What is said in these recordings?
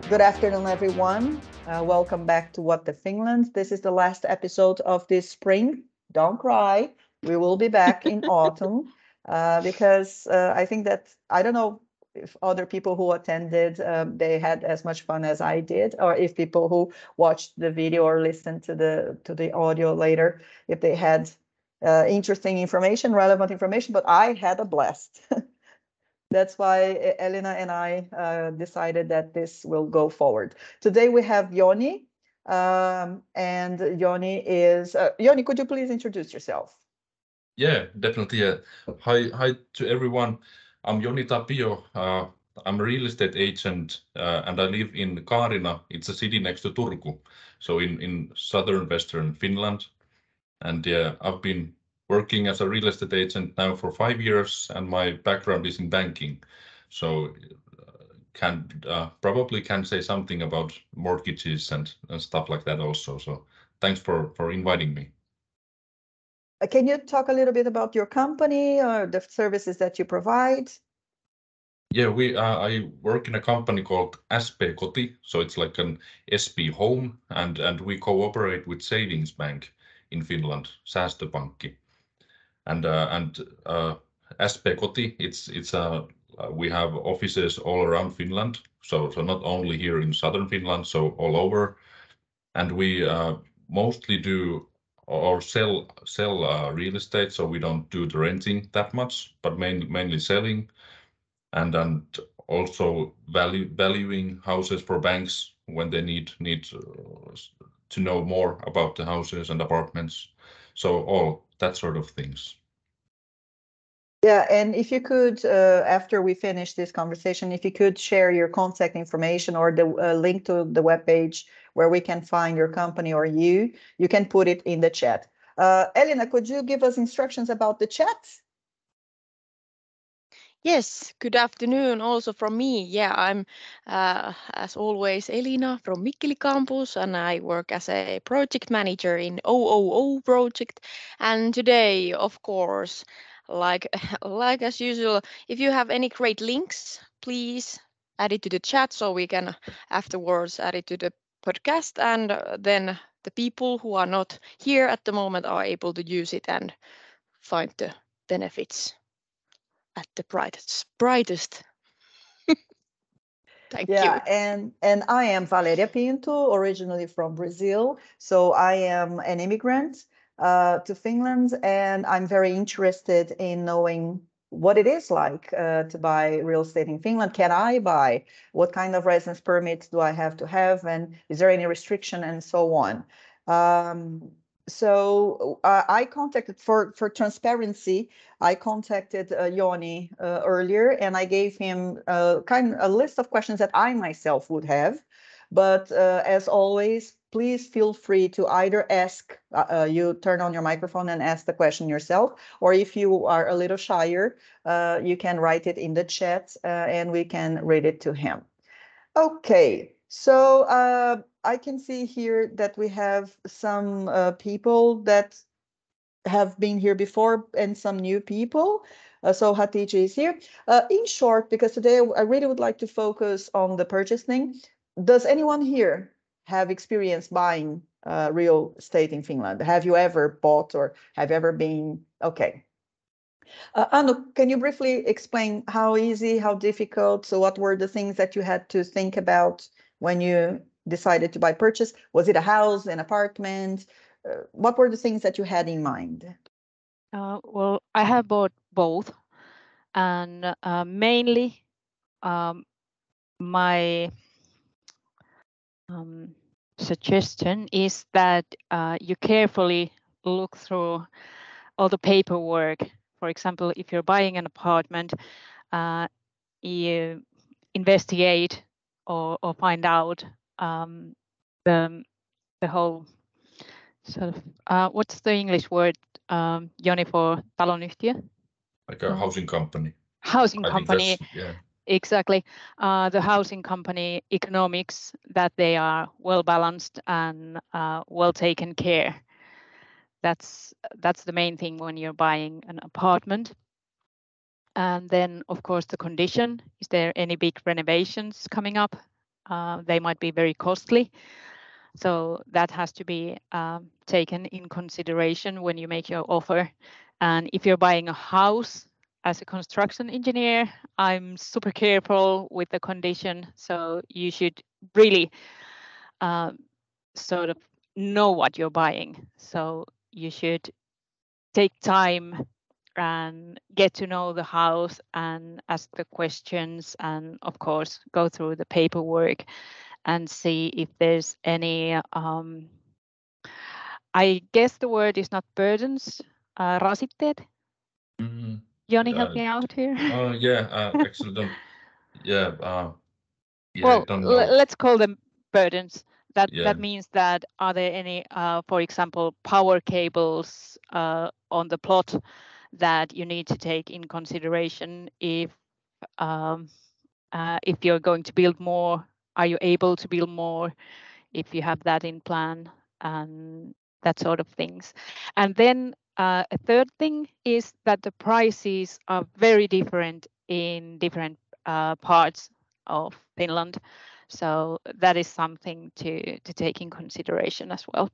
Good afternoon, everyone. Welcome back to What the Finland. This is the last episode of this spring. Don't cry. We will be back in autumn because I think that I don't know if other people who attended they had as much fun as I did, or if people who watched the video or listened to the audio later, if they had interesting information, relevant information. But I had a blast. That's why Elina and I decided that this will go forward. Today we have Joni, and Joni is Joni. Could you please introduce yourself? Yeah, definitely. Hi to everyone. I'm Joni Tapio. I'm a real estate agent, and I live in Kaarina. It's a city next to Turku, so in southern western Finland. And yeah, I've been working as a real estate agent now for 5 years, and my background is in banking. So can probably can say something about mortgages and stuff like that also. So thanks for inviting me. Can you talk a little bit about your company or the services that you provide? Yeah, we I work in a company called SP Koti, so it's like an SP Home, and we cooperate with Savings Bank in Finland, Säästöpankki, and SP Koti. We have offices all around Finland, so not only here in southern Finland, so all over, and we mostly do or sell real estate, so we don't do the renting that much, but mainly selling and also valuing houses for banks when they need to know more about the houses and apartments. So all that sort of things. Yeah, and if you could, after we finish this conversation, if you could share your contact information or the link to the webpage where we can find your company or you can put it in the chat. Elina, could you give us instructions about the chat? Yes, good afternoon also from me. Yeah, I'm as always Elina from Mikkeli campus and I work as a project manager in OOO project. And today, of course, like like as usual, if you have any great links, please add it to the chat so we can afterwards add it to the podcast and then the people who are not here at the moment are able to use it and find the benefits at the brightest. Thank you. Yeah, and I am Valeria Pinto, originally from Brazil. So I am an immigrant to Finland, and I'm very interested in knowing what it is like to buy real estate in Finland. Can I buy? What kind of residence permits do I have to have? And is there any restriction and so on? I contacted for transparency. I contacted Joni earlier, and I gave him a list of questions that I myself would have. But as always, please feel free to either ask. You turn on your microphone and ask the question yourself, or if you are a little shyer, you can write it in the chat, and we can read it to him. Okay, so I can see here that we have some people that have been here before and some new people. So Hatice is here. In short, because today I really would like to focus on the purchasing. Does anyone here have experience buying real estate in Finland? Have you ever bought or have you ever been? Okay. Anu, can you briefly explain how easy, how difficult? So what were the things that you had to think about when you decided to buy purchase? Was it a house, an apartment? What were the things that you had in mind? Well, I have bought both, and mainly my suggestion is that you carefully look through all the paperwork. For example, if you're buying an apartment, you investigate or find out the whole sort of what's the English word, Joni, for talonyhtiö? Like a housing company. Housing I think company. yeah. Exactly. The housing company economics, that they are well balanced and well taken care. That's the main thing when you're buying an apartment. And then, of course, the condition. Is there any big renovations coming up? they might be very costly. So that has to be taken in consideration when you make your offer. And if you're buying a house as a construction engineer, I'm super careful with the condition. So you should really sort of know what you're buying. So you should take time and get to know the house and ask the questions, and of course go through the paperwork and see if there's any I guess the word is not burdens, rasitteet. Joni, help me out here. Actually well, I don't know. Let's call them burdens. That means that are there any, for example, power cables on the plot that you need to take in consideration if you're going to build more? Are you able to build more if you have that in plan, and that sort of things? And then a third thing is that the prices are very different in different parts of Finland. So that is something to take in consideration as well.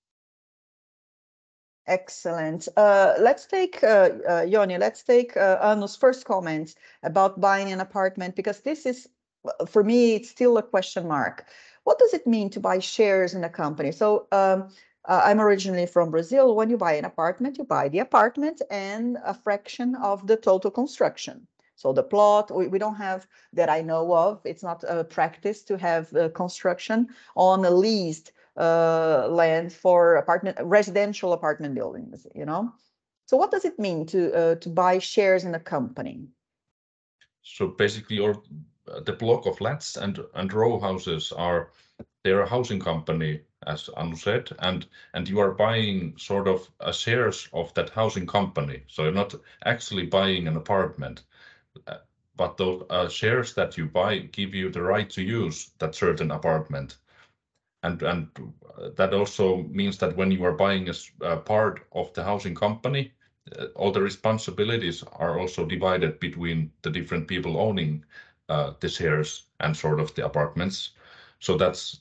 Excellent. Let's take, Joni, let's take Anu's first comments about buying an apartment, because this is, for me, it's still a question mark. What does it mean to buy shares in a company? So I'm originally from Brazil. When you buy an apartment, you buy the apartment and a fraction of the total construction. So the plot, we don't have, that I know of, it's not a practice to have construction on a leased land for residential apartment buildings, you know. So what does it mean to buy shares in a company? So basically, the block of flats and row houses they're a housing company, as Anu said, and you are buying sort of shares of that housing company. So you're not actually buying an apartment, but those shares that you buy give you the right to use that certain apartment. And that also means that when you are buying a part of the housing company, all the responsibilities are also divided between the different people owning the shares and sort of the apartments. So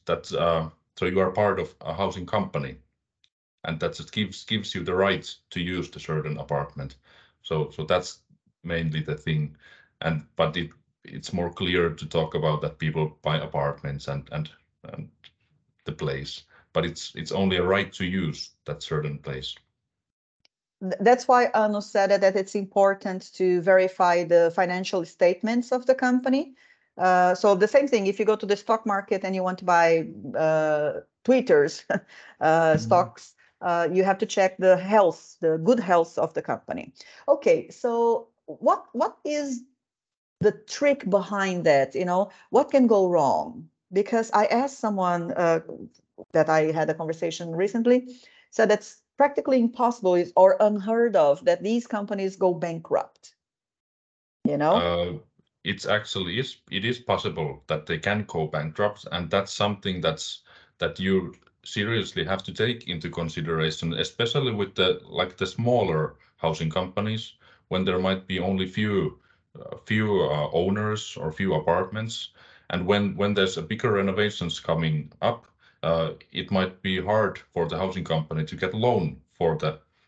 so you are part of a housing company, and that gives you the right to use the certain apartment. So that's mainly the thing, but it's more clear to talk about that people buy apartments and the place, but it's only a right to use that certain place. That's why Anu said that it's important to verify the financial statements of the company. So the same thing, if you go to the stock market and you want to buy Twitter's stocks, you have to check the good health of the company. Okay, so what is the trick behind that? You know, what can go wrong? Because I asked someone that I had a conversation recently, said that's practically impossible or unheard of that these companies go bankrupt. You know, it is possible that they can go bankrupt, and that's something that you seriously have to take into consideration, especially with the smaller housing companies, when there might be only few owners or few apartments, and when there's a bigger renovations coming up, it might be hard for the housing company to get loan for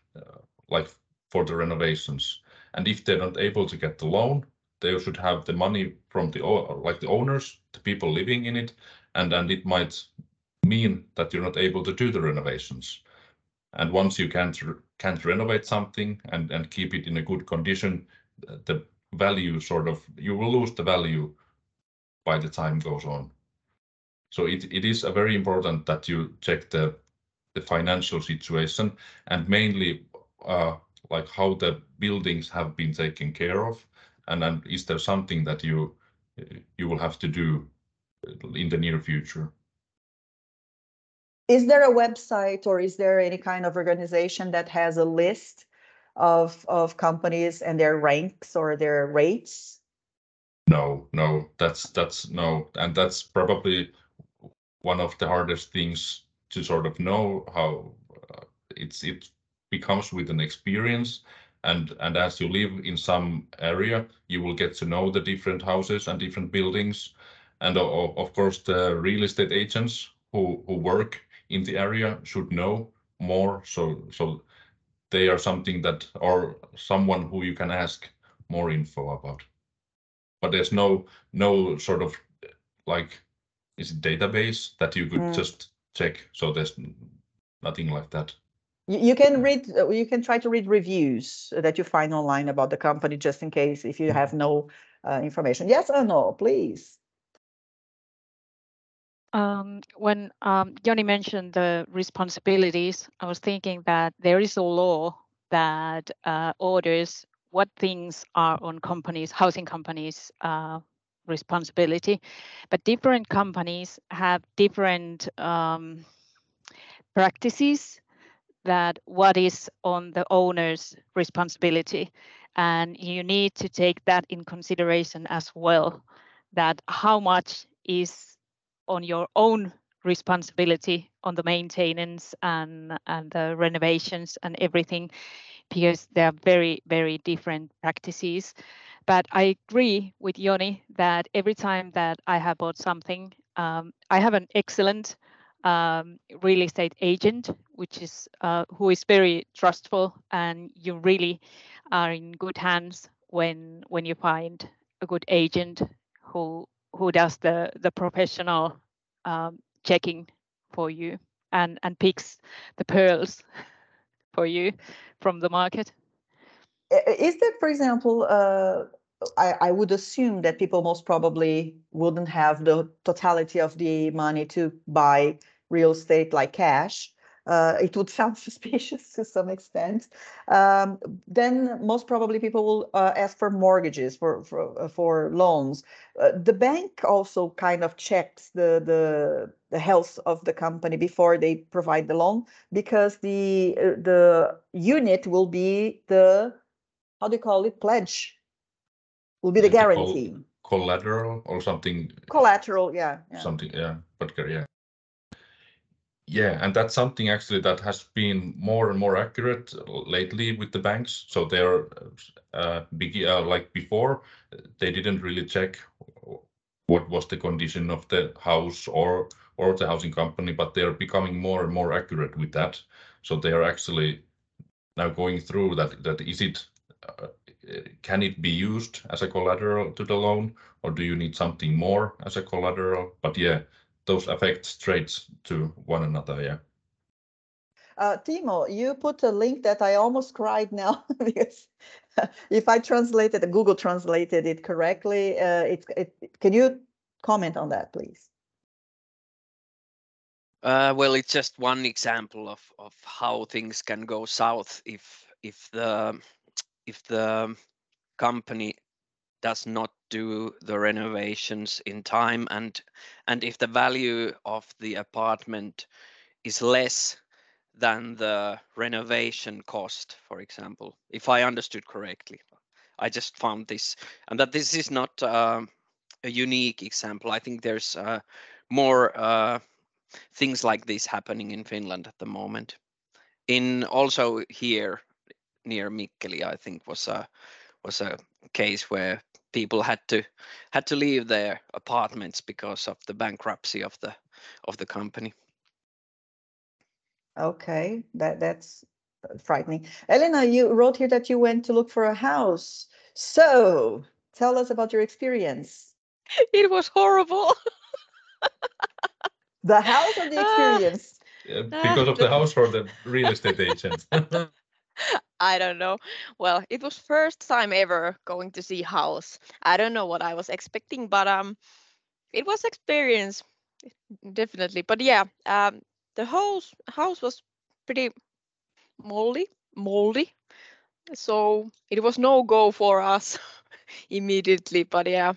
for the renovations. And if they're not able to get the loan, they should have the money from the owners, the people living in it, and it might mean that you're not able to do the renovations. And once you can't renovate something and keep it in a good condition, the value you will lose the value by the time goes on. So it is a very important that you check the financial situation, and mainly how the buildings have been taken care of, and then is there something that you will have to do in the near future. Is there a website or is there any kind of organization that has a list of companies and their ranks or their rates? No, that's no, and that's probably one of the hardest things to sort of know how it becomes with an experience, and as you live in some area, you will get to know the different houses and different buildings, And of course, the real estate agents who work in the area should know more. So they are something that, or someone who you can ask more info about. But there's no sort of like, is it database that you could just check? So there's nothing like that. You can read, you can try to read reviews that you find online about the company, just in case if you have no information. Yes or no, please. When Joni mentioned the responsibilities, I was thinking that there is a law that orders what things are on companies, housing companies' responsibility, but different companies have different practices that what is on the owner's responsibility, and you need to take that in consideration as well, that how much is on your own responsibility on the maintenance and the renovations and everything, because they are very, very different practices. But I agree with Joni that every time that I have bought something, I have an excellent real estate agent, which is who is very trustful, and you really are in good hands when you find a good agent who does the professional checking for you and picks the pearls for you from the market. Is that, for example, I would assume that people most probably wouldn't have the totality of the money to buy real estate like cash. It would sound suspicious to some extent. Then most probably people will ask for mortgages, for loans. The bank also kind of checks the health of the company before they provide the loan, because the unit will be the, how do you call it, pledge, will be the guarantee. Collateral or something. Collateral, yeah. Something, yeah. But yeah. Yeah, and that's something actually that has been more and more accurate lately with the banks. So they're like before, they didn't really check what was the condition of the house or the housing company, but they're becoming more and more accurate with that. So they are actually now going through that is it can it be used as a collateral to the loan, or do you need something more as a collateral? But yeah, those affect straight to one another. Yeah. Timo, you put a link that I almost cried now because if I translated, Google translated it correctly, can you comment on that, please? Well, it's just one example of how things can go south if the company does not do the renovations in time, and if the value of the apartment is less than the renovation cost, for example, if I understood correctly. I just found this, and that this is not a unique example. I think there's more things like this happening in Finland at the moment. In also here near Mikkeli, I think was a case where people had to leave their apartments because of the bankruptcy of the company. Okay, that's frightening. Elena, you wrote here that you went to look for a house. So tell us about your experience. It was horrible. The house or the experience? Because of the house or the real estate agent? I don't know. Well, it was first time ever going to see house. I don't know what I was expecting, but it was experience definitely. But yeah, the house was pretty moldy. So it was no go for us immediately. But yeah,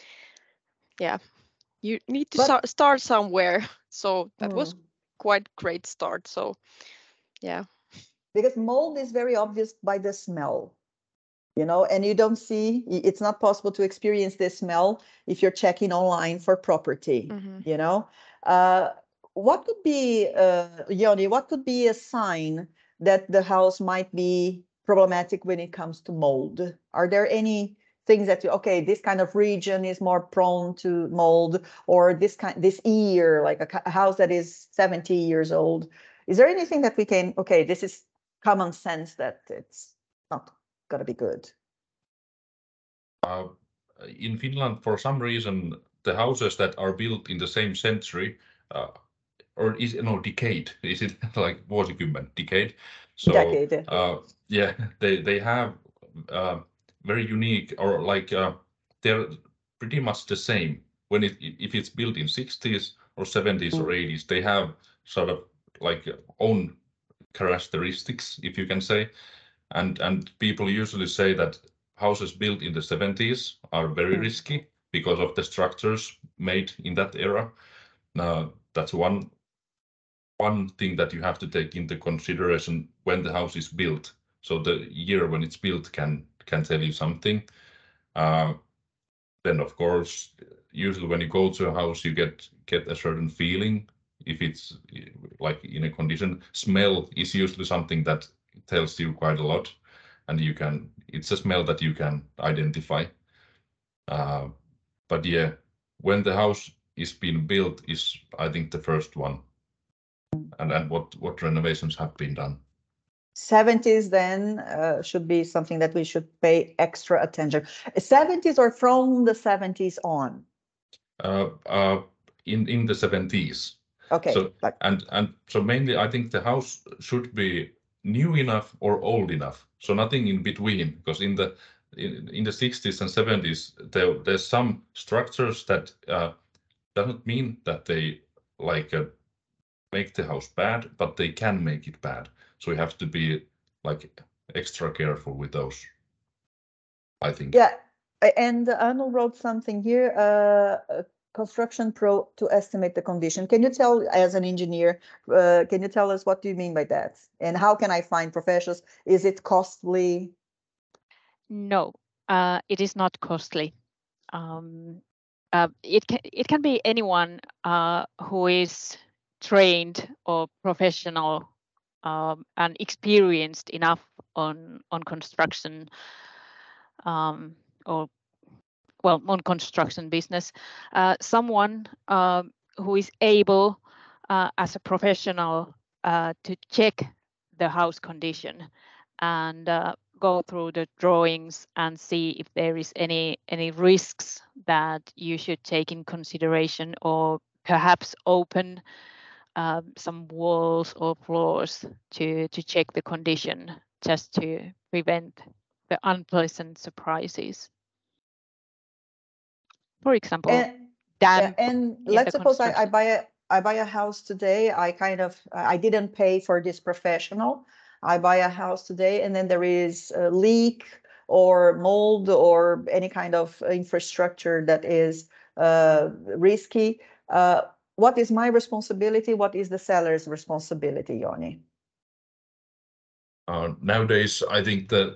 you need to start somewhere. So that was quite great start. So yeah. Because mold is very obvious by the smell, and you don't see, it's not possible to experience this smell if you're checking online for property. What could be, Joni, what could be a sign that the house might be problematic when it comes to mold? Are there any things that this kind of region is more prone to mold, or this year, like a house that is 70 years old? Is there anything that we can, this is common sense that it's not going to be good? In Finland, for some reason, the houses that are built in the same century, or decade, is it like vuosikymmen, decade? So, Decade. Yeah, they have very unique, or like they're pretty much the same. When if it's built in 60s or 70s or 80s, they have sort of like own characteristics, if you can say. And people usually say that houses built in the 70s are very risky because of the structures made in that era. That's one thing that you have to take into consideration when the house is built. So the year when it's built can tell you something. Then of course, usually when you go to a house, you get a certain feeling. If it's like in a condition, smell is usually something that tells you quite a lot, and it's a smell that you can identify. But yeah, when the house is being built is, I think, the first one, and what renovations have been done. 70s then should be something that we should pay extra attention. 70s or from the 70s on? In the 70s. Okay. So and so mainly I think the house should be new enough or old enough. So nothing in between, because in the 60s and 70s there's some structures that doesn't mean that they like make the house bad, but they can make it bad. So we have to be like extra careful with those, I think. Yeah, and Arnold wrote something here, Construction Pro to estimate the condition. Can you tell, as an engineer, can you tell us what do you mean by that? And how can I find professionals? Is it costly? No, it is not costly. It can be anyone who is trained or professional and experienced enough on construction on construction business. Someone who is able as a professional to check the house condition and go through the drawings and see if there is any risks that you should take in consideration, or perhaps open some walls or floors to check the condition, just to prevent the unpleasant surprises. For example, damp. And let's suppose I buy a house today. I didn't pay for this professional. I buy a house today, and then there is a leak or mold or any kind of infrastructure that is risky. What is my responsibility? What is the seller's responsibility, Joni? Nowadays, I think that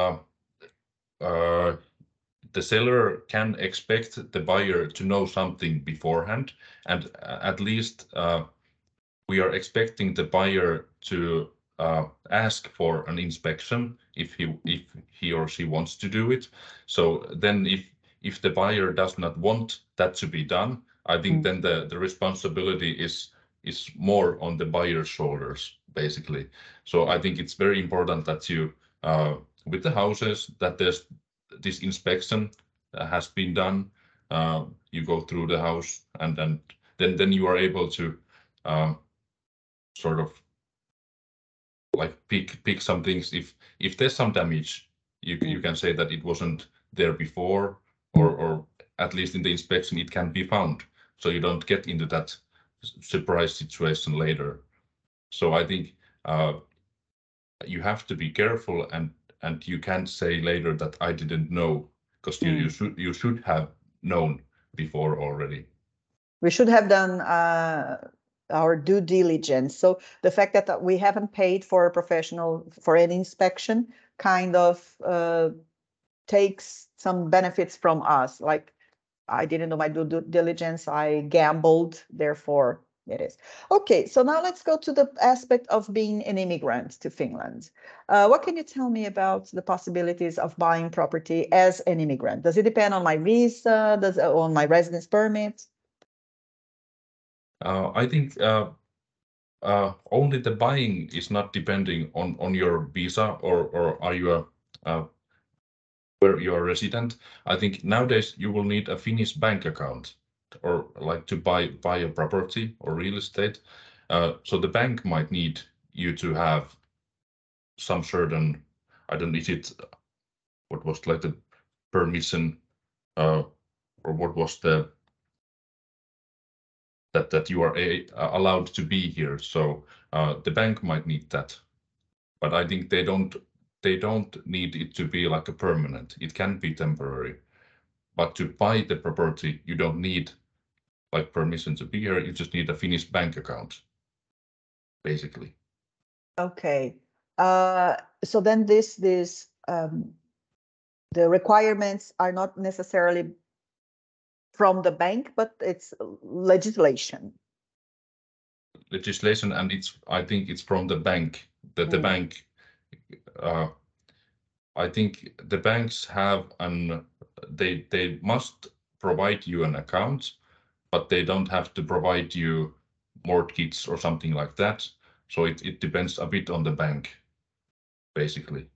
the seller can expect the buyer to know something beforehand, and at least we are expecting the buyer to ask for an inspection if he or she wants to do it. So then if the buyer does not want that to be done, I think then the responsibility is more on the buyer's shoulders, basically. So I think it's very important that you with the houses, that there's this inspection has been done. You go through the house, and then you are able to sort of like pick some things. If there's some damage, you can say that it wasn't there before, or at least in the inspection it can be found, so you don't get into that surprise situation later. So I think you have to be careful, and you can't say later that I didn't know, because you should have known before already. We should have done our due diligence. So the fact that we haven't paid for a professional for an inspection kind of takes some benefits from us. Like, I didn't know my due diligence, I gambled, therefore It is. Okay, so now let's go to the aspect of being an immigrant to Finland. What can you tell me about the possibilities of buying property as an immigrant? Does it depend on my visa? Does it on my residence permit? I think only the buying is not depending on your visa or are you where you're a resident. I think nowadays you will need a Finnish bank account or like to buy a property or real estate. So the bank might need you to have some certain, I don't know, is it what was like the permission or what was the that you are allowed to be here. So the bank might need that, but I think they don't need it to be like a permanent. It can be temporary, but to buy the property, you don't need like permission to be here. You just need a Finnish bank account, basically. Okay. So then the requirements are not necessarily from the bank, but it's legislation. Legislation, and I think it's from the bank. That the bank, I think the banks have they must provide you an account, but they don't have to provide you mortgage or something like that. So it depends a bit on the bank, basically.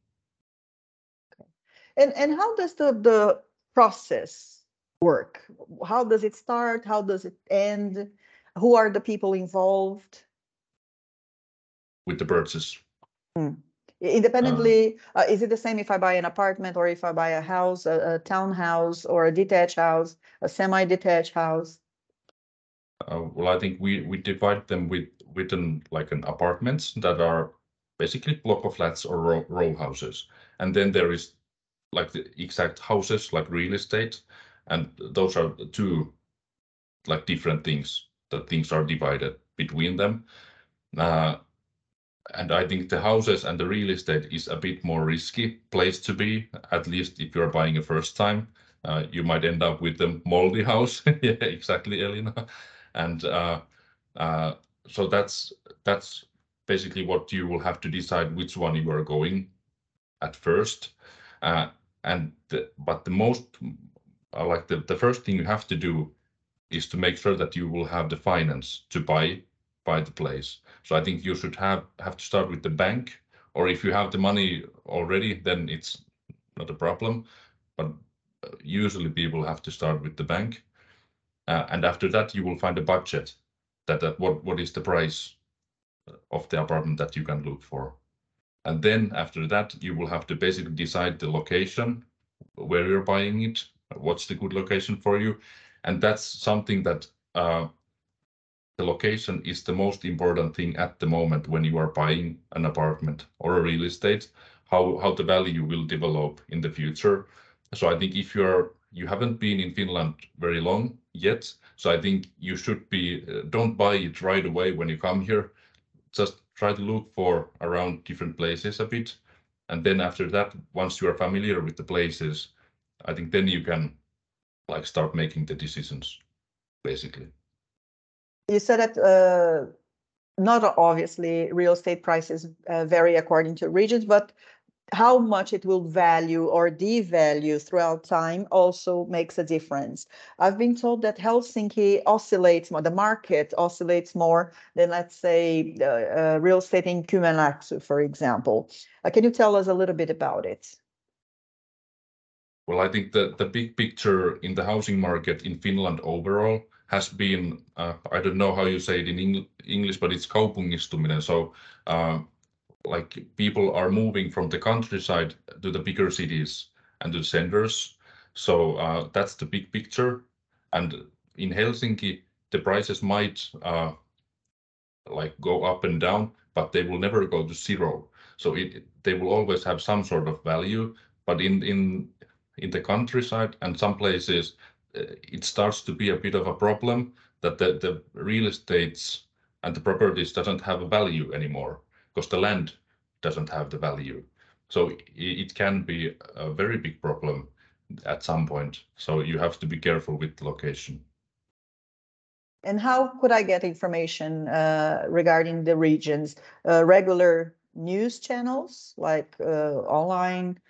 And how does the process work? How does it start? How does it end? Who are the people involved? With the purchase. Independently, is it the same if I buy an apartment or if I buy a house, a townhouse or a detached house, a semi-detached house? Well, I think we divide them within like an apartments that are basically block of flats or row houses, and then there is like the exact houses like real estate, and those are the two like different things that things are divided between them. And I think the houses and the real estate is a bit more risky place to be, at least if you're buying a first time. You might end up with a moldy house. Yeah, exactly, Elina. And so that's basically what you will have to decide which one you are going at first. But the most like the first thing you have to do is to make sure that you will have the finance to buy the place. So I think you should have to start with the bank, or if you have the money already, then it's not a problem. But usually people have to start with the bank, and after that you will find a budget that what is the price of the apartment that you can look for, and then after that you will have to basically decide the location where you're buying it, what's the good location for you, and that's something that the location is the most important thing at the moment when you are buying an apartment or a real estate, how the value will develop in the future. So I think if you haven't been in Finland very long yet, so I think you should be don't buy it right away when you come here. Just try to look for around different places a bit, and then after that, once you are familiar with the places, I think then you can like start making the decisions, basically. You said that not obviously real estate prices vary according to regions, but how much it will value or devalue throughout time also makes a difference. I've been told that Helsinki oscillates more, the market oscillates more than, let's say, real estate in Kymenlaakso, for example. Can you tell us a little bit about it? Well, I think the big picture in the housing market in Finland overall has been, I don't know how you say it in English, but it's kaupungistuminen. So like people are moving from the countryside to the bigger cities and to the centers. So that's the big picture. And in Helsinki, the prices might like go up and down, but they will never go to zero. So they will always have some sort of value. But in the countryside and some places, it starts to be a bit of a problem that the real estates and the properties doesn't have a value anymore because the land doesn't have the value. So it can be a very big problem at some point. So you have to be careful with the location. And how could I get information regarding the regions? Regular news channels like online,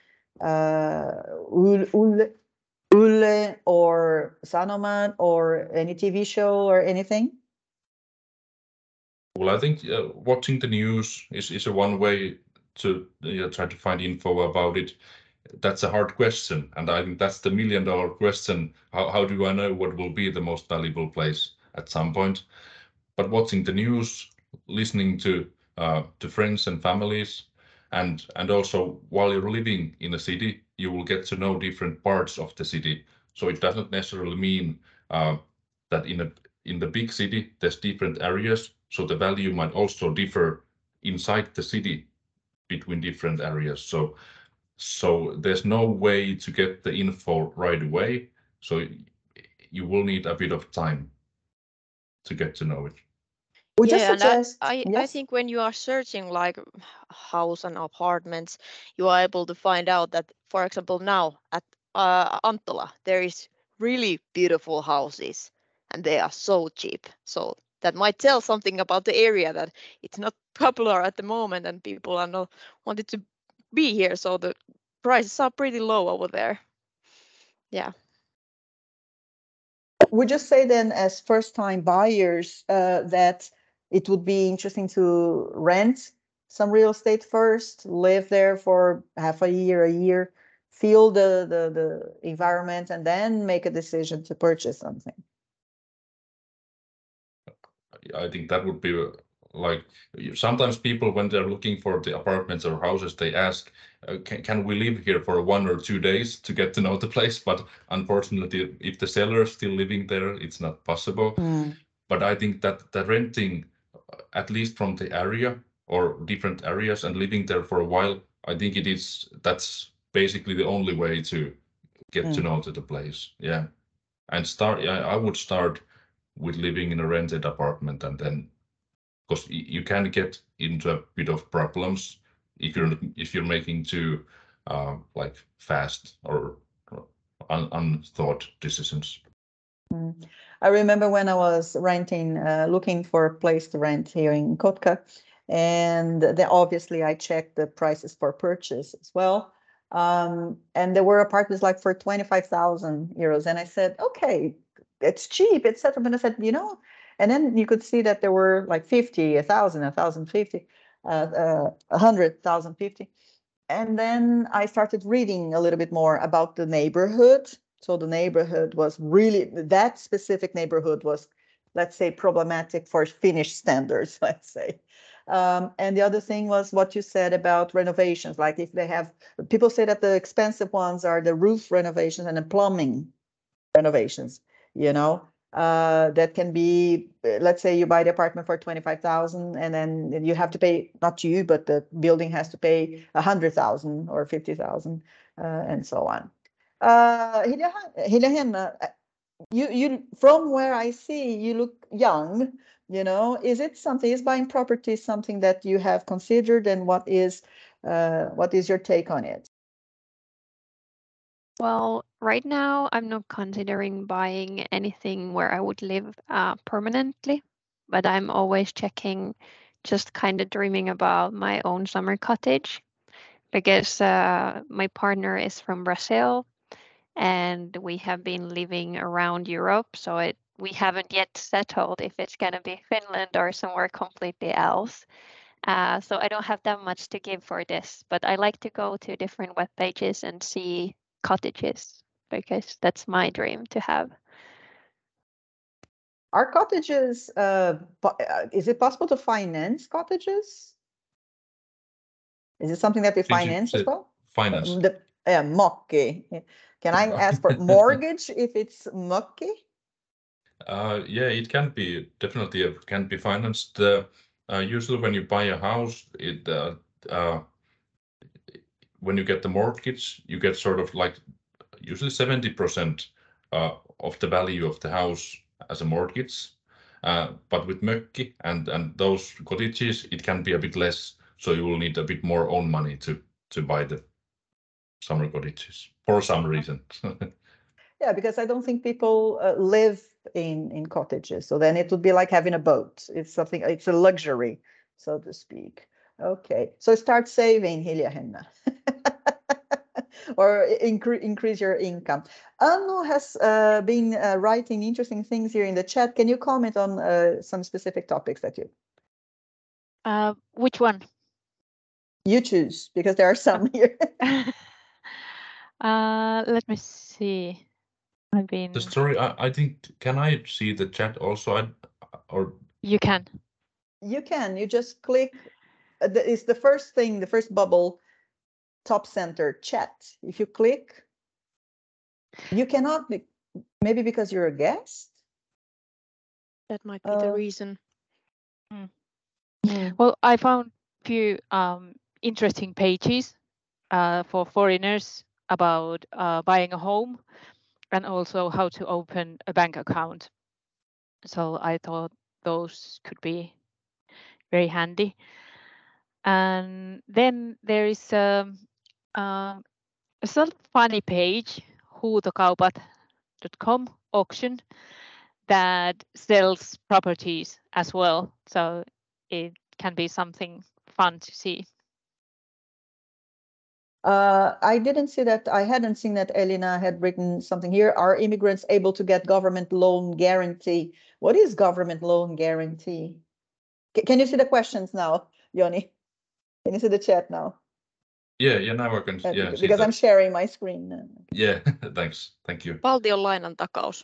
Yle or Sanomat or any TV show or anything? Well, I think watching the news is a one way to try to find info about it. That's a hard question, and I think that's the $1 million question. How do I know what will be the most valuable place at some point? But watching the news, listening to friends and families, and also while you're living in a city, you will get to know different parts of the city. So it doesn't necessarily mean that in the big city there's different areas. So the value might also differ inside the city between different areas. So there's no way to get the info right away. So you will need a bit of time to get to know it. We just and suggest, I yes. think when you are searching like house and apartments, you are able to find out that, for example, now at Anttola, there is really beautiful houses and they are so cheap. So that might tell something about the area, that it's not popular at the moment and people are not wanted to be here. So the prices are pretty low over there. Yeah. We just say then, as first-time buyers, that it would be interesting to rent some real estate first, live there for half a year, feel the environment, and then make a decision to purchase something. I think that would be like, sometimes people, when they're looking for the apartments or houses, they ask, can we live here for 1 or 2 days to get to know the place? But unfortunately, if the seller is still living there, it's not possible. But I think that the renting, at least from the area or different areas, and living there for a while, I think that's basically the only way to get to know the place. Yeah. And I would start with living in a rented apartment, and then, because you can get into a bit of problems if you're making too like fast or unthought decisions. I remember when I was renting, looking for a place to rent here in Kotka, and then obviously I checked the prices for purchase as well. And there were apartments like for 25,000 euros, and I said, okay, it's cheap, etc. But I said, and then you could see that there were like 50, 1,000, 1,050, 100, 1,050. And then I started reading a little bit more about the neighborhood. So the neighborhood was really, that specific neighborhood was, let's say, problematic for Finnish standards, let's say. And the other thing was what you said about renovations. Like if they have, people say that the expensive ones are the roof renovations and the plumbing renovations, that can be, let's say you buy the apartment for 25,000 and then you have to pay, not you, but the building has to pay 100,000 or 50,000 and so on. Hilja, you from where I see, you look young, is buying property something that you have considered, and what is your take on it? Well, right now I'm not considering buying anything where I would live permanently, but I'm always checking, just kind of dreaming about my own summer cottage, because my partner is from Brazil and we have been living around Europe, so we haven't yet settled if it's going to be Finland or somewhere completely else. So I don't have that much to give for this, but I like to go to different web pages and see cottages, because that's my dream to have. Are cottages, is it possible to finance cottages? Is it something that we finance as well? Finance. Mökki. Can I ask for mortgage if it's mökki? Yeah, it can be, definitely can be financed. Usually when you buy a house, when you get the mortgage, you get sort of like usually 70% of the value of the house as a mortgage. But with mökki and those cottages, it can be a bit less. So you will need a bit more own money to buy the summer cottages for some reason. Yeah, because I don't think people live in cottages. So then it would be like having a boat. It's a luxury, so to speak. Okay, so start saving, Hilja Henna. Or increase your income. Anu has been writing interesting things here in the chat. Can you comment on some specific topics that you? Which one? You choose, because there are some here. Let me see. I've been. Sorry, I think, can I see the chat also? Or you can. You can. You just click. It's the first thing, the first bubble, top center, chat. If you click, you cannot be, maybe because you're a guest. That might be the reason. Well, I found a few interesting pages for foreigners about buying a home and also how to open a bank account. So I thought those could be very handy. And then there is a sort of funny page, huutokaupat.com auction, that sells properties as well. So it can be something fun to see. I didn't see that. I hadn't seen that Elina had written something here. Are immigrants able to get government loan guarantee? What is government loan guarantee? Can you see the questions now, Joni? Can you see the chat now? Yeah, now I can. Yeah, because I'm sharing my screen. Yeah, thanks. Thank you. Valtion lainan takaus.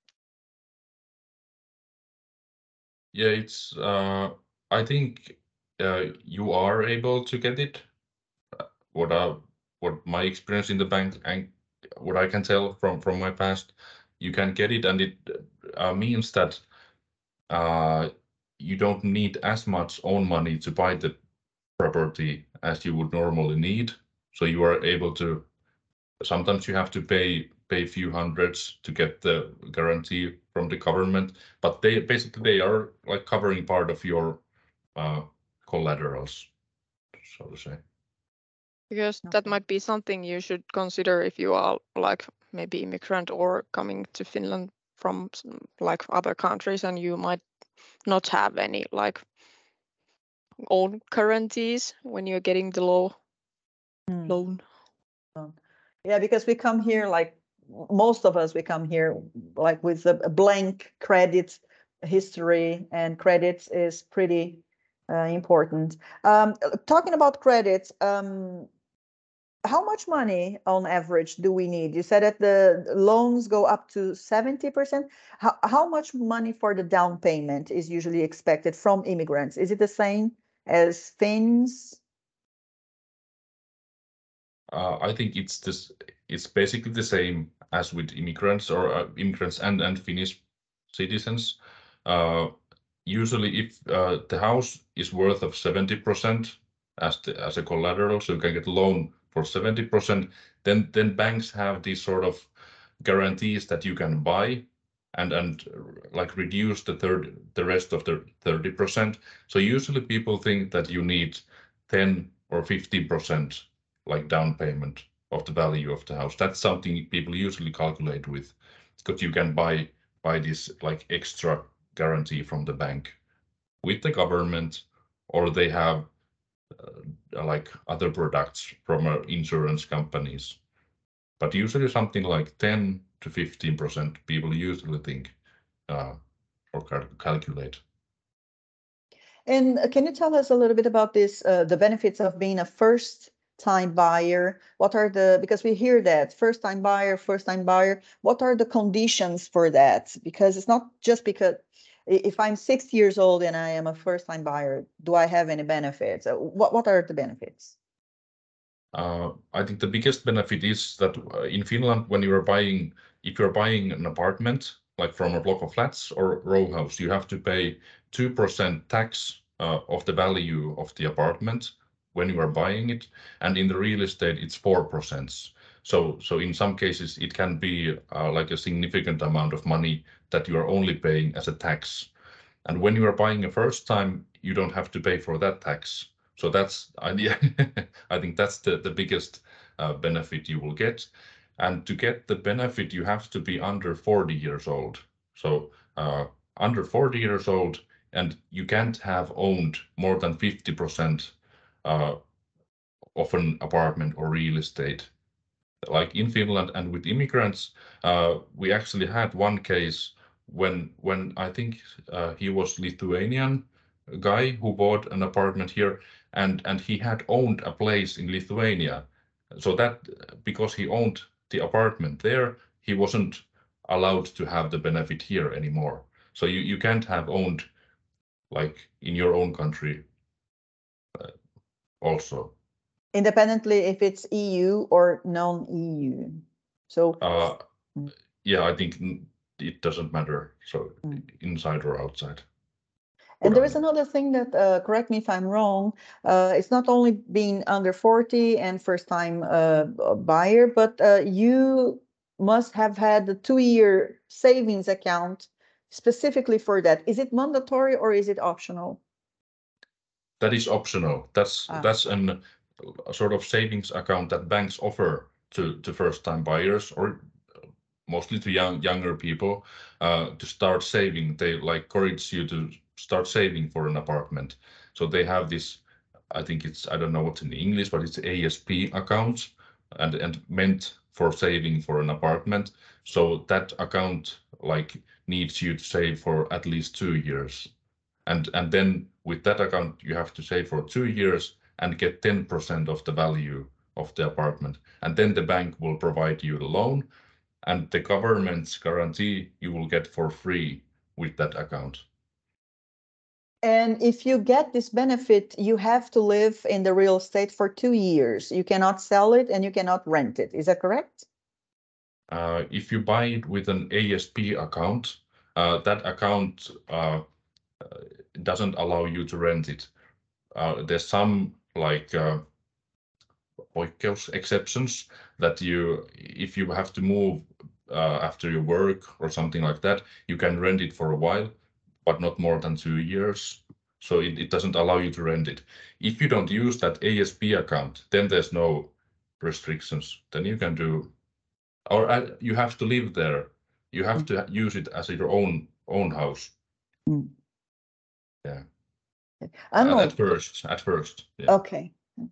Yeah, it's. I think you are able to get it. What my experience in the bank and what I can tell from my past, you can get it, and it means that you don't need as much own money to buy the property as you would normally need. So you are able to. Sometimes you have to pay a few hundreds to get the guarantee from the government, but they are like covering part of your collaterals, so to say. Because that might be something you should consider if you are like maybe immigrant or coming to Finland from like other countries, and you might not have any like own guarantees when you're getting the loan. Yeah, because we come here, like most of us, we come here like with a blank credit history, and credits is pretty important. Talking about credits, how much money on average do we need? You said that the loans go up to 70%. How much money for the down payment is usually expected from immigrants? Is it the same as Finns? I think it's basically the same as with immigrants or immigrants and Finnish citizens. Usually, if the house is worth of 70% as a collateral, so you can get a loan for 70%, then banks have these sort of guarantees that you can buy and like reduce the rest of the 30%. So usually people think that you need 10 or 15% like down payment of the value of the house. That's something people usually calculate with, because you can buy this like extra guarantee from the bank with the government, or they have like other products from insurance companies. But usually something like 10 to 15% people usually think or calculate. And can you tell us a little bit about this, the benefits of being a first-time buyer? What are because we hear that first-time buyer, what are the conditions for that? Because it's not just because if I'm 60 years old and I am a first-time buyer, do I have any benefits? What are the benefits? I think the biggest benefit is that in Finland, if you're buying an apartment, like from a block of flats or row house, you have to pay 2% tax of the value of the apartment when you are buying it, and in the real estate it's 4%. So in some cases it can be like a significant amount of money that you are only paying as a tax, and when you are buying a first time, you don't have to pay for that tax. So that's I think that's the biggest benefit you will get. And to get the benefit, you have to be under 40 years old. So under 40 years old, and you can't have owned more than 50% of an apartment or real estate. Like in Finland, and with immigrants, we actually had one case when I think he was Lithuanian guy who bought an apartment here, and he had owned a place in Lithuania. So that because he owned the apartment there, he wasn't allowed to have the benefit here anymore. So you can't have owned like in your own country also. Independently if it's EU or non-EU. So yeah, I think it doesn't matter. So inside or outside. And there is another thing that, correct me if I'm wrong, it's not only being under 40 and first-time buyer, but you must have had the 2-year savings account specifically for that. Is it mandatory or is it optional? That is optional. That's a sort of savings account that banks offer to first-time buyers or mostly to younger people to start saving. They like encourage you to start saving for an apartment. So they have this, I think it's, I don't know what's in English, but it's ASP account and meant for saving for an apartment. So that account like needs you to save for at least 2 years. And then with that account, you have to save for 2 years and get 10% of the value of the apartment. And then the bank will provide you the loan, and the government's guarantee you will get for free with that account. And if you get this benefit, you have to live in the real estate for 2 years. You cannot sell it and you cannot rent it. Is that correct? If you buy it with an ASP account, that account doesn't allow you to rent it. There's some like exceptions that if you have to move after your work or something like that, you can rent it for a while, but not more than 2 years. So it doesn't allow you to rent it. If you don't use that ASP account, then there's no restrictions. Then you can do, or you have to live there. You have to use it as your own house. Yeah. At first. Yeah. Okay.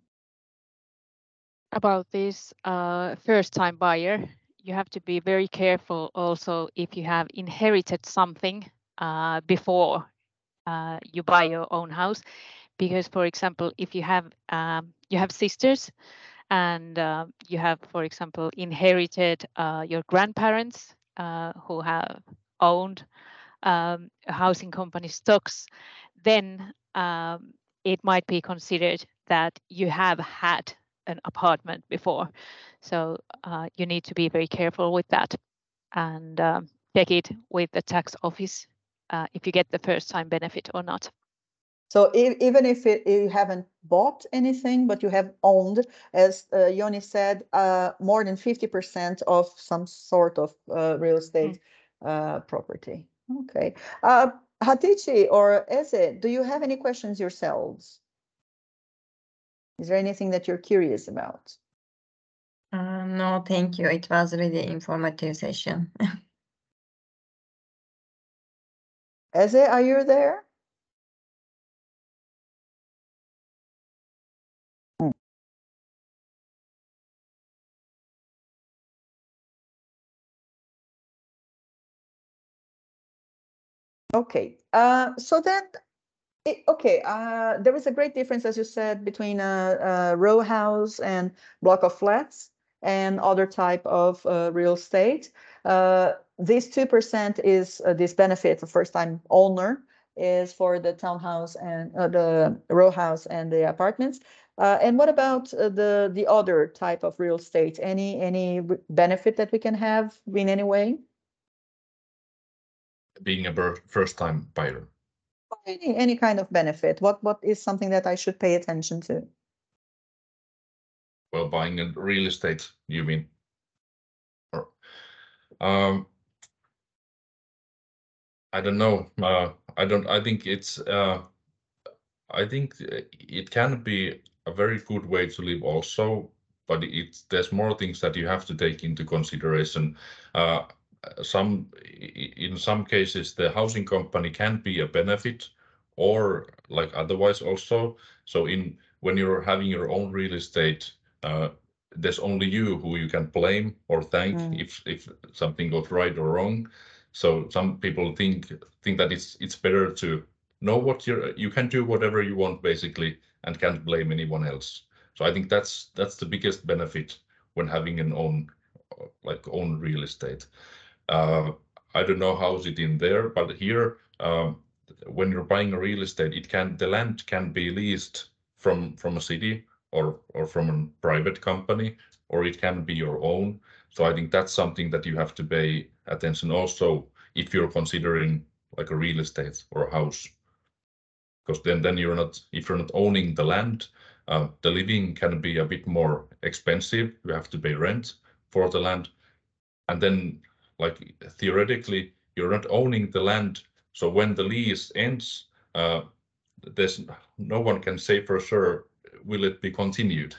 About this first-time buyer, you have to be very careful also if you have inherited something before you buy your own house, because, for example, if you have sisters and you have, for example, inherited your grandparents who have owned a housing company stocks, then it might be considered that you have had an apartment before. So you need to be very careful with that and check it with the tax office if you get the first time benefit or not. So even if you haven't bought anything, but you have owned, as Joni said, more than 50% of some sort of real estate property. Okay. Hatice or Eze, do you have any questions yourselves? Is there anything that you're curious about? No, thank you. It was really informative session. Eze, are you there? Okay, so then, there is a great difference, as you said, between a row house and block of flats and other type of real estate. This 2% is this benefit, the first-time owner is for the townhouse and the row house and the apartments. And what about the other type of real estate? Any benefit that we can have in any way? Being a first-time buyer. Any kind of benefit. What is something that I should pay attention to? Well, buying a real estate, you mean? Or, I don't know. I think it's. I think it can be a very good way to live also, but there's more things that you have to take into consideration. in some cases the housing company can be a benefit, or like otherwise also. So when you're having your own real estate, there's only you who you can blame or thank if something goes right or wrong. So some people think that it's better to know what you can do whatever you want basically and can't blame anyone else. So I think that's the biggest benefit when having an own real estate. I don't know how's it in there, but here when you're buying a real estate, the land can be leased from a city or from a private company, or it can be your own. So I think that's something that you have to pay attention also if you're considering like a real estate or a house, because then if you're not owning the land, the living can be a bit more expensive. You have to pay rent for the land, and then like theoretically you're not owning the land. So when the lease ends, there's no one can say for sure will it be continued.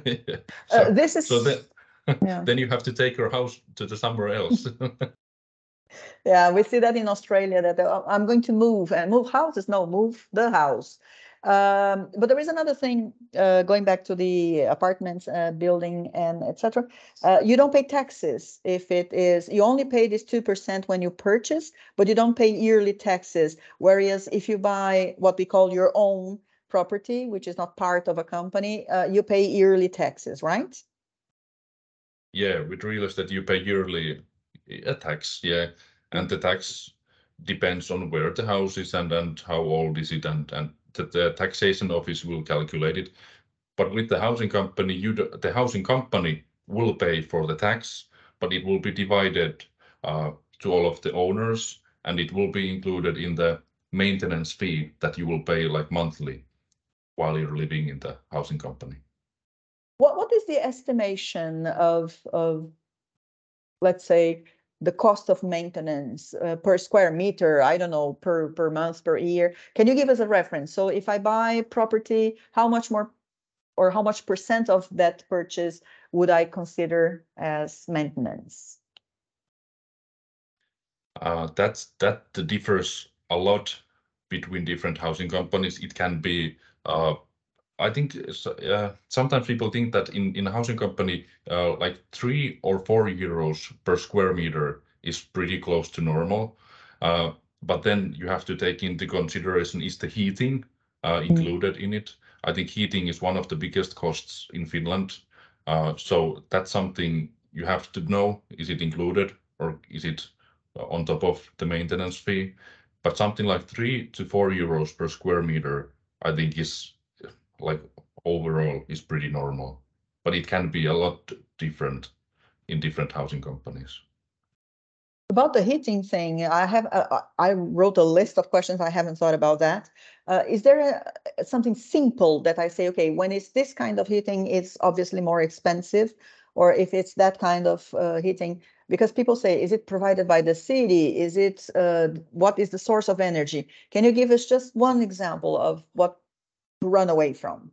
Then you have to take your house to somewhere else. Yeah, we see that in Australia, that I'm going to move houses. No, move the house. But there is another thing, going back to the apartments, building, and etc. You don't pay taxes if it is, you only pay this 2% when you purchase, but you don't pay yearly taxes. Whereas if you buy what we call your own property, which is not part of a company, you pay yearly taxes, right? Yeah, with real estate you pay yearly a tax, yeah, and the tax depends on where the house is and how old is it, and the taxation office will calculate it. But with the housing company, the housing company will pay for the tax, but it will be divided to all of the owners, and it will be included in the maintenance fee that you will pay like monthly while you're living in the housing company. What is the estimation of let's say the cost of maintenance per square meter? I don't know, per month, per year. Can you give us a reference? So if I buy property, how much more or how much % of that purchase would I consider as maintenance? That differs a lot between different housing companies. It can be, I think sometimes people think that in a housing company, like 3 or 4 euros per square meter is pretty close to normal. But then you have to take into consideration, is the heating included in it? I think heating is one of the biggest costs in Finland. So that's something you have to know. Is it included or is it on top of the maintenance fee? But something like 3 to 4 euros per square meter, I think is like overall is pretty normal, but it can be a lot different in different housing companies. About the heating thing, I wrote a list of questions. I haven't thought about that. Is there something simple that I say, okay, when it's this kind of heating, it's obviously more expensive, or if it's that kind of heating, because people say, is it provided by the city? Is it, what is the source of energy? Can you give us just one example of what to run away from?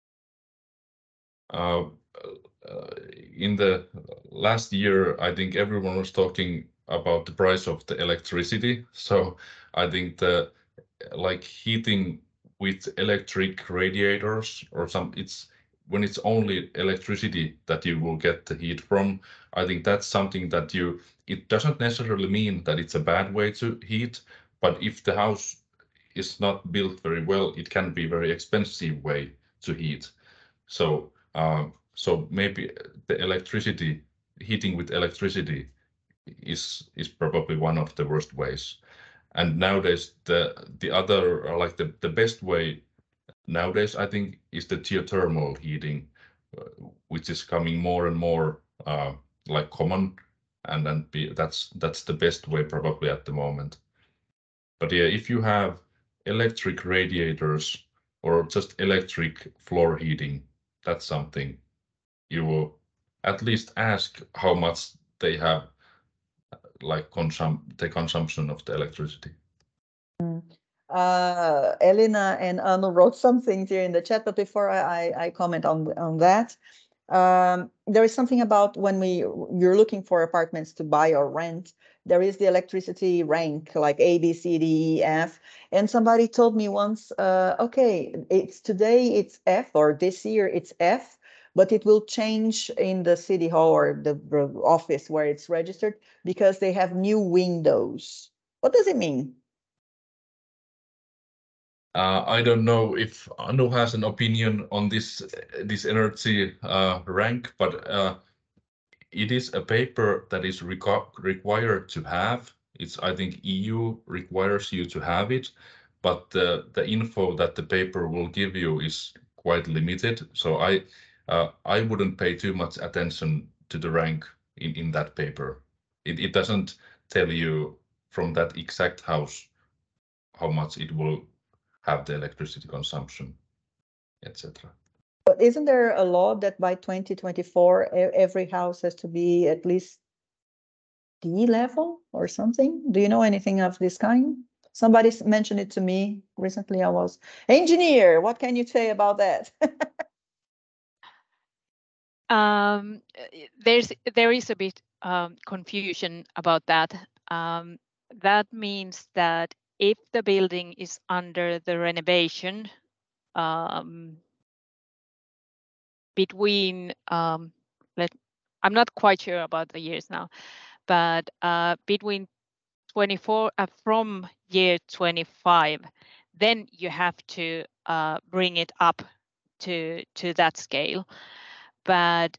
In the last year, I think everyone was talking about the price of the electricity. So I think like heating with electric radiators or when it's only electricity that you will get the heat from, I think that's something that it doesn't necessarily mean that it's a bad way to heat, but if the house is not built very well, it can be a very expensive way to heat. So maybe the heating with electricity is probably one of the worst ways. And nowadays the other, like the best way nowadays, I think, is the geothermal heating, which is coming more and more like common, and then that's the best way probably at the moment. But yeah, if you have electric radiators or just electric floor heating, that's something you will at least ask how much they have, like the consumption of the electricity. Elina and Anu wrote some things here in the chat, but before I comment on that, There is something about when you're looking for apartments to buy or rent, there is the electricity rank like A, B, C, D, E, F. And somebody told me once, okay, today it's F, or this year it's F, but it will change in the city hall or the office where it's registered because they have new windows. What does it mean? I don't know if Anu has an opinion on this energy rank, but it is a paper that is required to have. I think EU requires you to have it, but the info that the paper will give you is quite limited. So I wouldn't pay too much attention to the rank in that paper. It doesn't tell you from that exact house how much it will have the electricity consumption, etc. But isn't there a law that by 2024 every house has to be at least D level or something? Do you know anything of this kind? Somebody mentioned it to me recently. I was engineer. What can you say about that? There is a bit confusion about that. That means that if the building is under the renovation, between I'm not quite sure about the years now, but between 24 from year 25, then you have to bring it up to that scale. But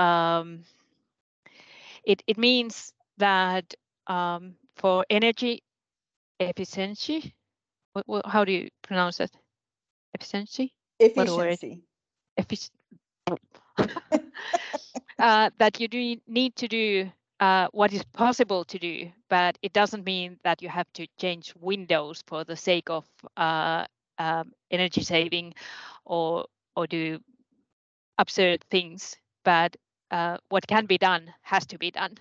it means that for energy efficiency, how do you pronounce that? Efficiency? Efficiency. That you need to do what is possible to do, but it doesn't mean that you have to change windows for the sake of energy saving or do absurd things. But what can be done has to be done.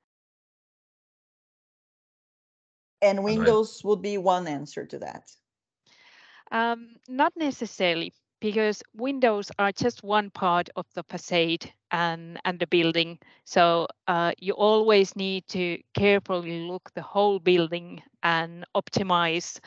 And windows would be one answer to that. Not necessarily, because windows are just one part of the facade and the building. So you always need to carefully look the whole building and optimize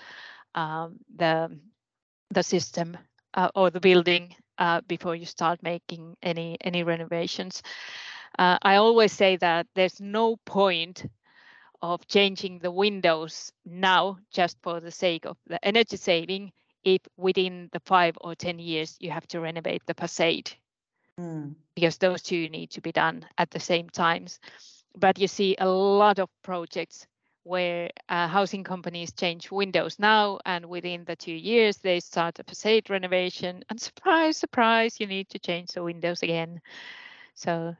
the system or the building before you start making any renovations. I always say that there's no point of changing the windows now just for the sake of the energy saving if within the 5 or 10 years you have to renovate the facade, because those two need to be done at the same times. But you see a lot of projects where housing companies change windows now, and within the 2 years they start a facade renovation, and surprise, surprise, you need to change the windows again. So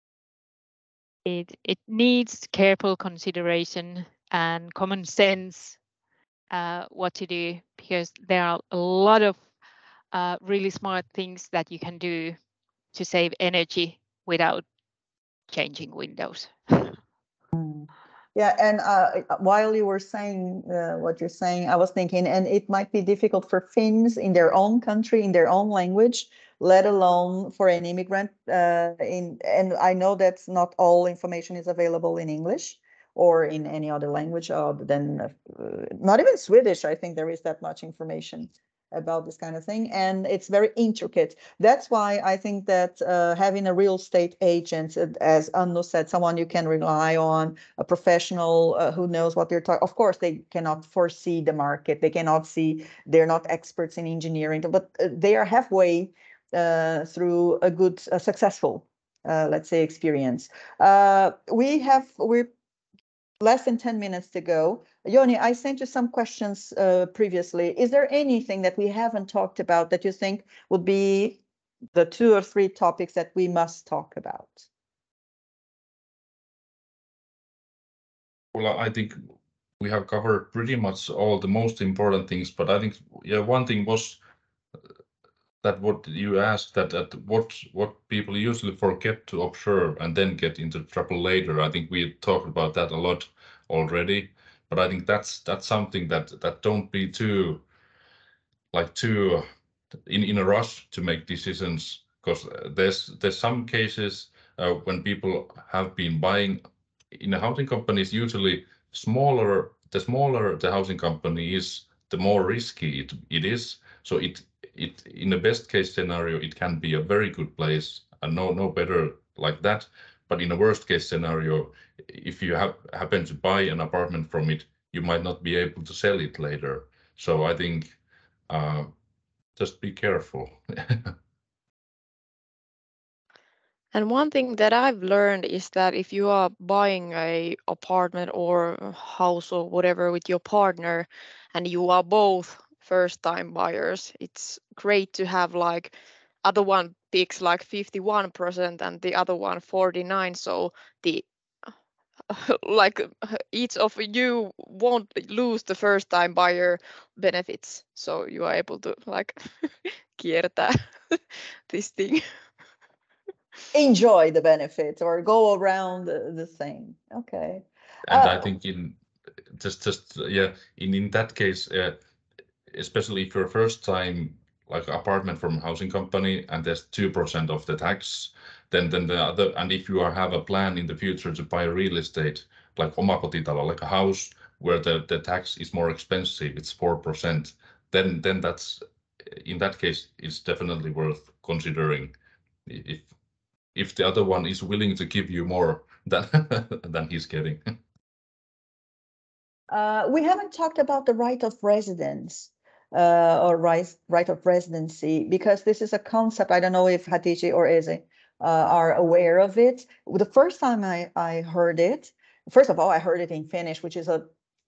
it needs careful consideration and common sense what to do, because there are a lot of really smart things that you can do to save energy without changing windows. Yeah, and while you were saying what you're saying, I was thinking, and it might be difficult for Finns in their own country, in their own language, let alone for an immigrant. And I know that not all information is available in English or in any other language other than not even Swedish. I think there is that much information about this kind of thing, and it's very intricate. That's why I think that having a real estate agent, as Anu said, someone you can rely on, a professional who knows what they're talking. Of course, they cannot foresee the market. They cannot see. They're not experts in engineering, but they are halfway through a good, successful, let's say, experience. We're less than 10 minutes to go. Joni, I sent you some questions previously. Is there anything that we haven't talked about that you think would be the 2 or 3 topics that we must talk about? Well, I think we have covered pretty much all the most important things, but I think one thing was that what you asked, that what people usually forget to observe and then get into trouble later. I think we talked about that a lot already, but I think that's something that don't be too in a rush to make decisions. because there's some cases when people have been buying in a housing companies. Usually, the smaller the housing company is, the more risky it is. So it in the best case scenario, it can be a very good place and no better like that. But in a worst case scenario, if you happen to buy an apartment from it, you might not be able to sell it later. So I think just be careful. And one thing that I've learned is that if you are buying a apartment or a house or whatever with your partner and you are both first time buyers, it's great to have like other one picks like 51% and the other one 49%. So the like each of you won't lose the first time buyer benefits. So you are able to like kiertää this thing. Enjoy the benefits or go around the thing. Okay. And I think in that case, especially if you're first time like apartment from housing company and there's 2% of the tax, then the other, and if you have a plan in the future to buy real estate like omakotitalo, like a house where the tax is more expensive, it's 4%, then that's, in that case, it's definitely worth considering if the other one is willing to give you more than he's getting. We haven't talked about the right of residence or right of residency, because this is a concept. I don't know if Hatice or Eze are aware of it. The first time I heard it, first of all, I heard it in Finnish, which is a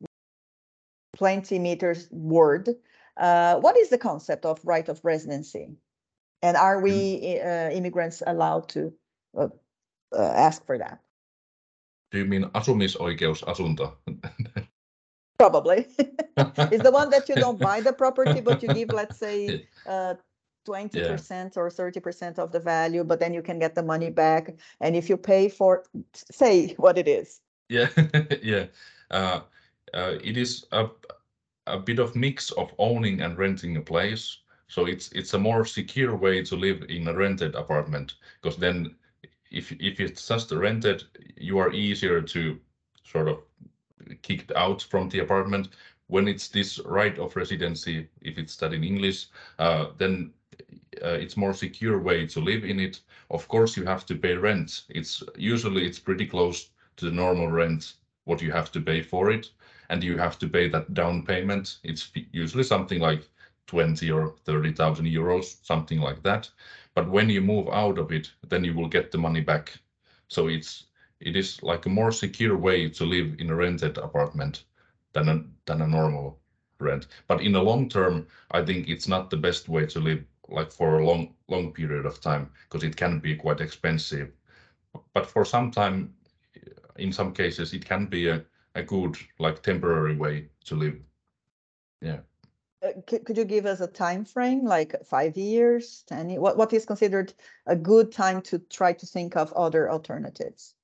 20 meters word. What is the concept of right of residency? And are we immigrants allowed to ask for that? Do you mean asumisoikeusasunto? Probably. It's the one that you don't buy the property, but you give, let's say, 20% or 30% of the value, but then you can get the money back. And if you pay for, say what it is. Yeah, yeah. It is a bit of mix of owning and renting a place. So it's a more secure way to live in a rented apartment, because then if it's just rented, you are easier to sort of kicked out from the apartment. When it's this right of residency, if it's that in English, then it's more secure way to live in it. Of course, you have to pay rent. It's pretty close to the normal rent what you have to pay for it, and you have to pay that down payment. It's usually something like 20 or 30,000 euros, something like that. But when you move out of it, then you will get the money back. So it is like a more secure way to live in a rented apartment than a normal rent. But in the long term, I think it's not the best way to live, like for a long period of time, because it can be quite expensive. But for some time, in some cases, it can be a good, like, temporary way to live. Yeah. Could you give us a time frame, like 5 years, 10 years? What is considered a good time to try to think of other alternatives?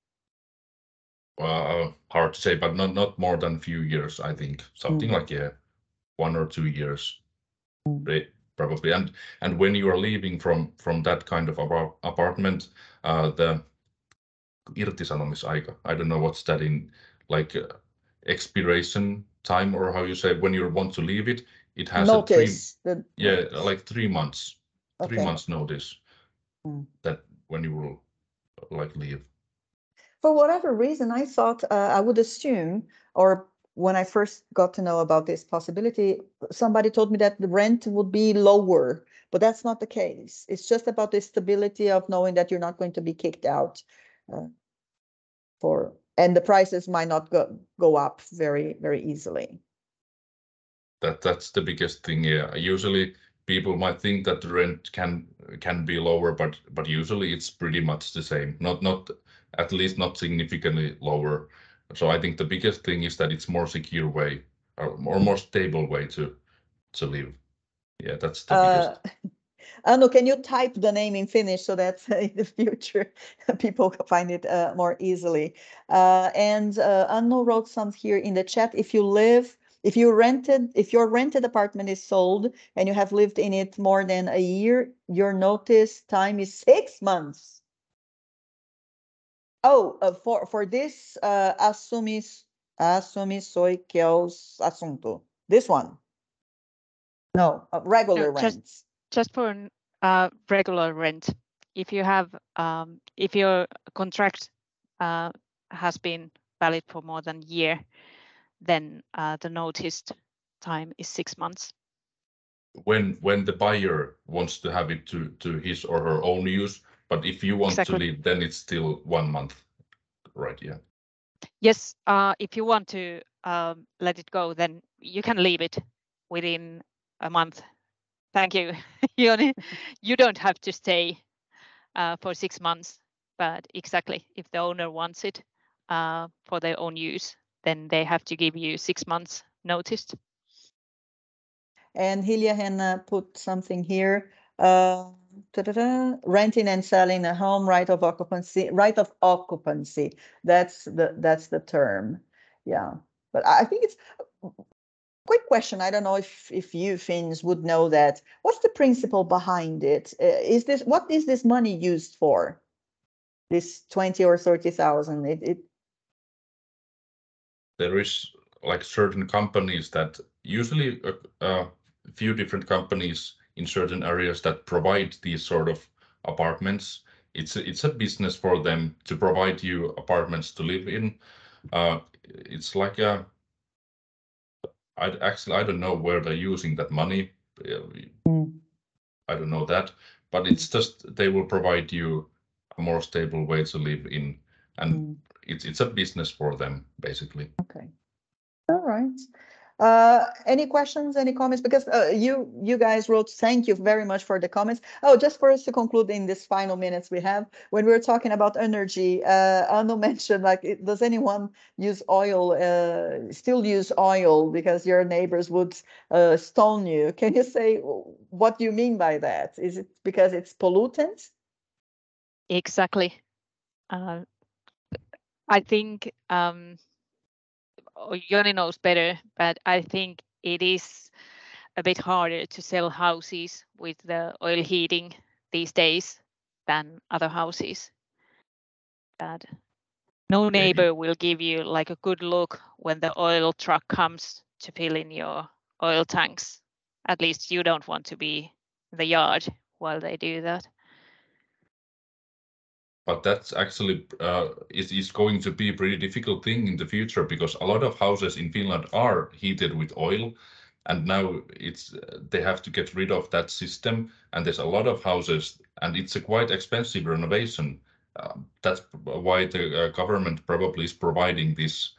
Hard to say, but not more than a few years, I think. Something like 1 or 2 years, probably. And when you are leaving from that kind of apartment, the irtisanomisaika, I don't know what's that in, like expiration time, or how you say, when you want to leave it, it has notice. Like 3 months. Okay. 3 months notice that when you will like leave. For whatever reason, I thought I would assume, or when I first got to know about this possibility, somebody told me that the rent would be lower, but that's not the case. It's just about the stability of knowing that you're not going to be kicked out and the prices might not go up very, very easily. That's the biggest thing. Yeah, usually people might think that the rent can be lower, but usually it's pretty much the same. Not at least not significantly lower. So I think the biggest thing is that it's more secure way or more stable way to live. Yeah, that's the biggest. Anu, can you type the name in Finnish so that in the future people find it more easily? And Anu wrote some here in the chat. If you live If your rented apartment is sold and you have lived in it more than a year, your notice time is 6 months. Oh, for this, assume soy que os assunto. This one. No, regular No, rents. Just for regular rent. If you have, if your contract has been valid for more than a year, then the notice time is 6 months. When the buyer wants to have it to his or her own use, but if you want to leave, then it's still 1 month, right? Yeah. Yes, if you want to let it go, then you can leave it within a month. Thank you, Joni. You don't have to stay for 6 months, but exactly, if the owner wants it for their own use, then they have to give you 6 months notice. And Hilja put something here. Renting and selling a home, right of occupancy. That's the term. Yeah, but I think it's a quick question. I don't know if you Finns would know that. What's the principle behind it? What is this money used for? This 20 or 30,000. There is like certain companies that usually a few different companies in certain areas that provide these sort of apartments. It's a business for them to provide you apartments to live in. It's like I don't know where they're using that money. I don't know that, but it's just they will provide you a more stable way to live in, and it's a business for them basically. Okay. All right. Any questions, any comments? Because you guys wrote, thank you very much for the comments. Oh, just for us to conclude in this final minutes we have, when we were talking about energy, Anu mentioned, like, does anyone use oil, still use oil because your neighbors would stone you? Can you say what you mean by that? Is it because it's pollutant? Exactly. I think Joni knows better, but I think it is a bit harder to sell houses with the oil heating these days than other houses. But no neighbor will give you like a good look when the oil truck comes to fill in your oil tanks. At least you don't want to be in the yard while they do that. But that's actually is going to be a pretty difficult thing in the future, because a lot of houses in Finland are heated with oil, and now they have to get rid of that system. And there's a lot of houses, and it's a quite expensive renovation. That's why the government probably is providing this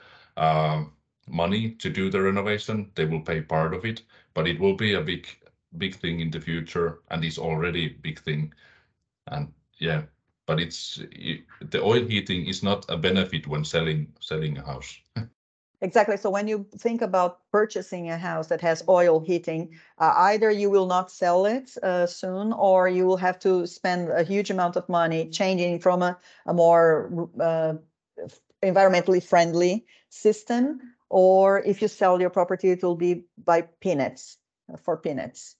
money to do the renovation. They will pay part of it, but it will be a big thing in the future, and is already a big thing. And yeah. But the oil heating is not a benefit when selling a house. Exactly. So when you think about purchasing a house that has oil heating, either you will not sell it soon, or you will have to spend a huge amount of money changing from a more environmentally friendly system. Or if you sell your property, it will be by peanuts, for peanuts.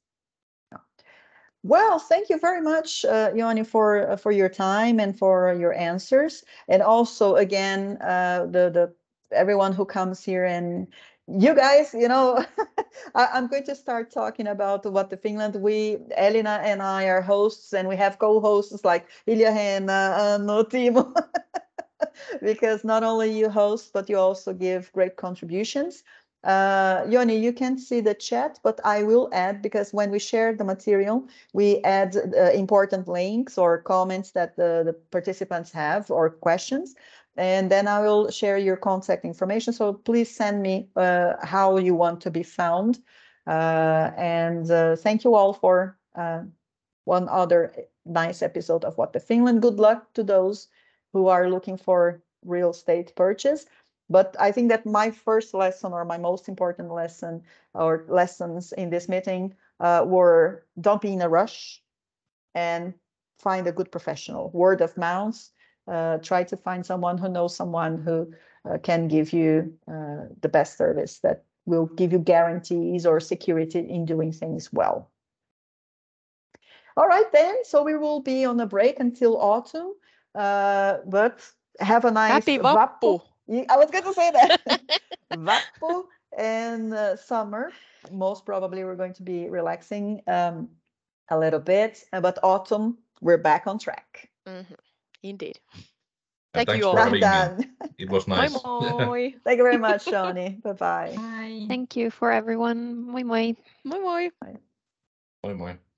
Well, thank you very much, Joni, for your time and for your answers, and also again the everyone who comes here, and you guys, I'm going to start talking about What the Finland. Elina and I are hosts, and we have co-hosts like Hilja, Anu, Timo, because not only you host, but you also give great contributions. Joni, you can't see the chat, but I will add, because when we share the material, we add important links or comments that the participants have, or questions, and then I will share your contact information. So please send me how you want to be found. And thank you all for one other nice episode of What the Finland. Good luck to those who are looking for real estate purchase. But I think that my first lesson, or my most important lesson, or lessons in this meeting were, don't be in a rush and find a good professional. Word of mouth. Try to find someone who knows someone who can give you the best service that will give you guarantees or security in doing things well. All right, then. So we will be on a break until autumn, but have a nice Happy Vappu. I was going to say that. Vappu and summer. Most probably we're going to be relaxing a little bit, but autumn, we're back on track. Indeed. And Thank you thanks all. for having Done. me. It was nice. Moi moi. Thank you very much, Shoni. Bye-bye. Bye. Thank you for everyone. Moi moi. Moi moi. Moi moi.